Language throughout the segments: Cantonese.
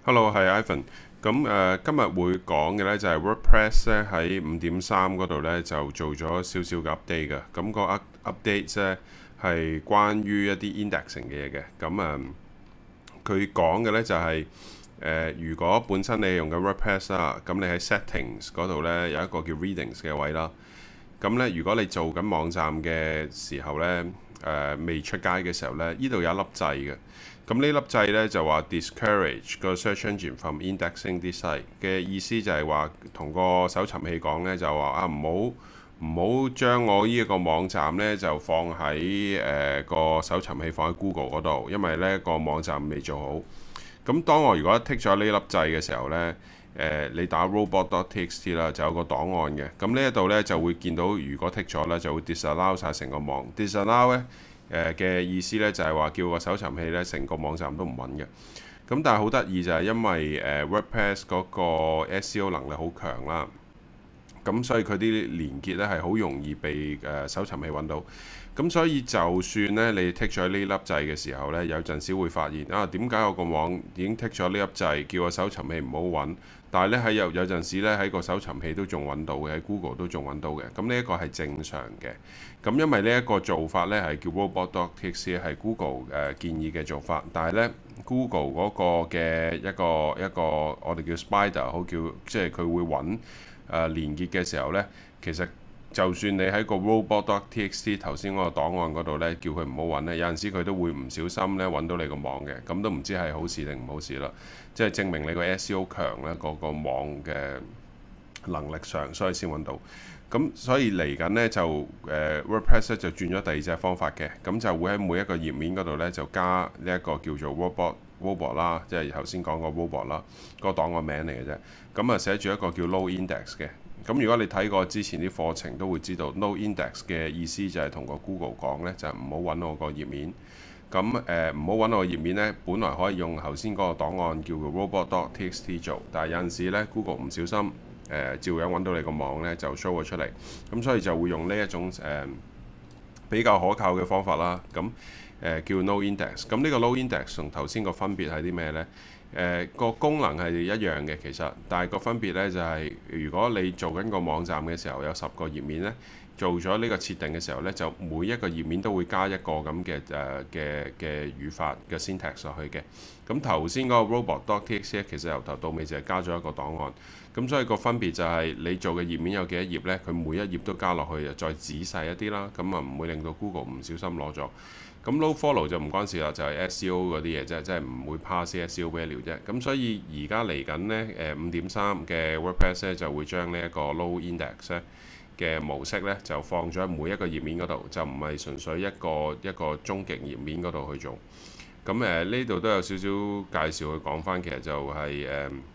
Hello，係 Ivan。今日會講嘅呢就係 WordPress 咧喺5.3嗰度呢就做咗少少嘅 update 嘅。個 update 呢係關於一啲 indexing 嘅嘢嘅。佢講嘅呢就係、如果本身你用緊 WordPress 啦，咁你喺 settings 嗰度呢有一個叫 readings 嘅位啦。咁呢，如果你做緊網站嘅時候呢，未出街嘅時候呢，呢度有一粒掣嘅。咁呢粒掣呢，就話 discourage 個 search engine from indexing this site 嘅意思就係話同個搜尋器講呢，就話唔好將我呢一個網站呢就放喺個搜尋器放喺 Google 嗰度，因為呢個網站未做好。咁當我如果剔咗呢粒掣嘅時候呢，你打 robot.txt 啦，就有個檔案嘅。咁呢一度呢，就會見到，如果剔咗呢，就會 disallow 晒成個網。disallow 呢嘅意思呢，就係話叫個搜尋器呢，成個網站都唔穩嘅。咁但係好得意就係因為WordPress 嗰個 SEO 能力好強啦。咁所以佢啲連結咧係好容易被搜尋器揾到。咁所以就算咧你剔咗呢粒掣嘅時候咧，有陣時會發現啊，點解我個網已經剔咗呢粒掣，叫個搜尋器唔好揾，但係咧喺有陣時咧喺個搜尋器都仲揾到嘅，喺 Google 都仲揾到嘅。咁呢一個係正常嘅。咁因為呢一個做法咧係叫 robot.txt 係 Google 建議嘅做法，但係咧 Google 嗰個嘅一個我哋叫 Spider 好叫，即係佢會揾連結嘅時候呢，其實就算你喺個 robot.txt 頭先嗰個檔案嗰度呢，叫佢唔好揾呢，有陣時佢都會唔小心呢揾到你個網嘅，咁都唔知係好事定唔好事啦。即係證明你個 SEO 強呢，個網嘅能力上，所以先揾到。咁所以嚟緊呢，就WordPress 就轉咗第二隻方法嘅，咁就會喺每一個頁面嗰度呢，就加呢一個叫做 robot 啦，即係頭先講個 robot 啦，個檔案名嚟嘅啫。咁啊寫住一個叫 no index 嘅。咁如果你睇過之前啲課程，都會知道 no index 嘅意思就係同個 Google 講呢，就係唔好揾我個頁面。咁唔好揾我個頁面呢，本來可以用頭先嗰個檔案叫做 robot.txt 做，但係有陣時呢 Google 唔小心照樣揾到你個網呢，就 show 咗出嚟。咁所以就會用呢一種比較可靠嘅方法啦。咁叫 no index。咁呢個 no index 同頭先個分別係啲咩呢？個功能係一樣嘅其實，但係個分別呢就係、如果你做緊個網站嘅時候有10個頁面呢，做咗呢個設定嘅時候呢，就每一個頁面都會加一個咁嘅語法嘅 syntax 落去嘅。咁頭先嗰個 robot.txt 其實由頭到尾就係加咗一個檔案。咁所以個分別就係你做嘅頁面有幾多頁呢？佢每一頁都加落去，就再仔細一啲啦。咁啊唔會令到 Google 唔小心攞咗。咁 nofollow 就唔關事啦，就係 SEO 嗰啲嘢啫，即係唔會 pass SEO value 啫。咁所以而家嚟緊呢，5.3嘅 WordPress 咧就會將呢一個 no index 咧嘅模式咧就放咗喺每一個頁面嗰度，就唔係純粹一個終極頁面嗰度去做。咁呢度都有少少介紹去講翻，其實就係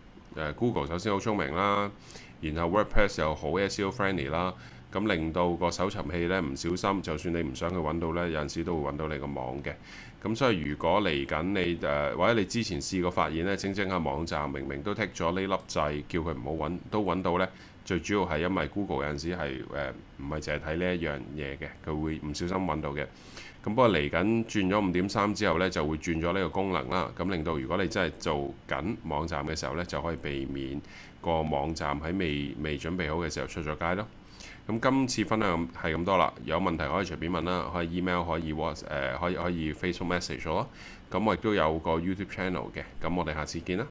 Google 首先好聰明啦，然後 WordPress 又好 SEO friendly 啦。咁令到個搜尋器咧唔小心，就算你唔想去揾到呢，有陣時都會揾到你個網嘅。咁所以如果嚟緊你或者你之前試過發現呢，整下網站明明都剔咗呢粒掣，叫佢唔好揾，都揾到呢。最主要係因為 Google 有陣時係唔係淨係睇呢一樣嘢嘅，佢會唔小心揾到嘅。咁不過嚟緊轉咗5.3之後呢，就會轉咗呢個功能啦。咁令到如果你真係做緊網站嘅時候呢，就可以避免個網站喺未準備好嘅時候出咗街咯。咁今次分享係咁多啦，有問題可以隨便問啦，可以 email，可以 可以 Facebook message 咗。咁我亦都有個 YouTube channel 嘅，咁我哋下次見啦。